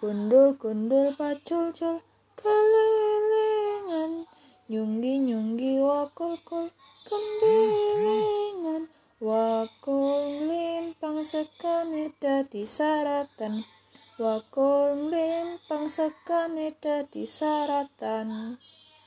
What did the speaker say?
Gundul-gundul pacul-cul kelilingan, nyunggi-nyunggi wakul-kul kembilingan, wakul limpang sekane dadi saratan, wakul limpang sekane dadi saratan.